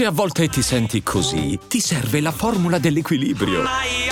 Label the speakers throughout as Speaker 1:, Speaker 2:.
Speaker 1: Se a volte ti senti così, ti serve la formula dell'equilibrio.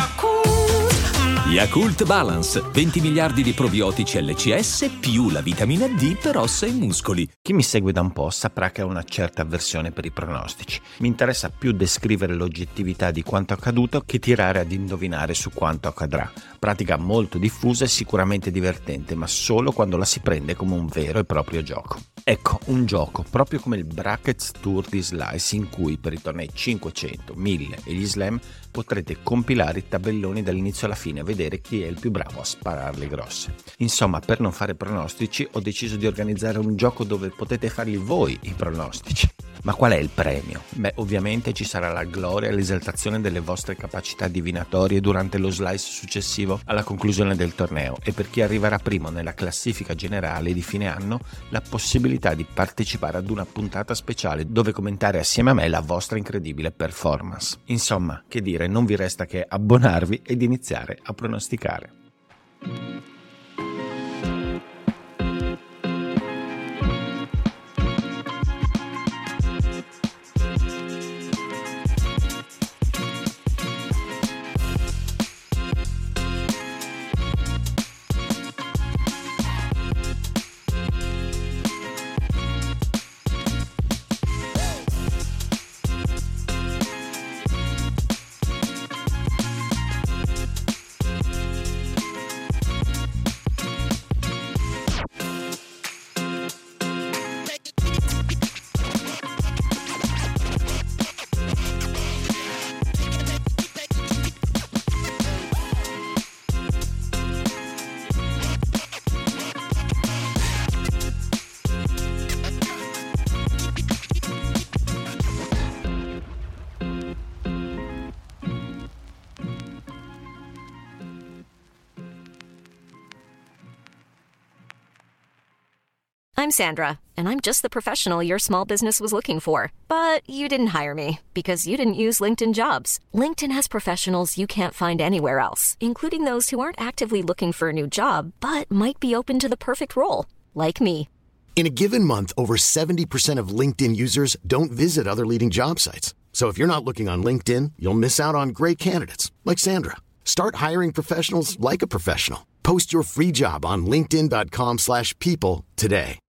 Speaker 1: Yakult Balance, 20 miliardi di probiotici LCS più la vitamina D per ossa e muscoli.
Speaker 2: Chi mi segue da un po' saprà che ho una certa avversione per i pronostici. Mi interessa più descrivere l'oggettività di quanto accaduto che tirare ad indovinare su quanto accadrà. Pratica molto diffusa e sicuramente divertente, ma solo quando la si prende come un vero e proprio gioco. Ecco, un gioco proprio come il Brackets Tour di Slice, in cui per i tornei 500, 1000 e gli slam potrete compilare i tabelloni dall'inizio alla fine e vedere chi è il più bravo a spararle grosse. Insomma, per non fare pronostici ho deciso di organizzare un gioco dove potete farli voi i pronostici. Ma qual è il premio? Beh, ovviamente ci sarà la gloria e l'esaltazione delle vostre capacità divinatorie durante lo slice successivo alla conclusione del torneo, e per chi arriverà primo nella classifica generale di fine anno la possibilità di partecipare ad una puntata speciale dove commentare assieme a me la vostra incredibile performance. Insomma, che dire, non vi resta che abbonarvi ed iniziare a pronosticare.
Speaker 3: I'm Sandra, and I'm just the professional your small business was looking for. But you didn't hire me because you didn't use LinkedIn Jobs. LinkedIn has professionals you can't find anywhere else, including those who aren't actively looking for a new job, but might be open to the perfect role, like me.
Speaker 4: In a given month, over 70% of LinkedIn users don't visit other leading job sites. So if you're not looking on LinkedIn, you'll miss out on great candidates like Sandra. Start hiring professionals like a professional. Post your free job on linkedin.com/people today.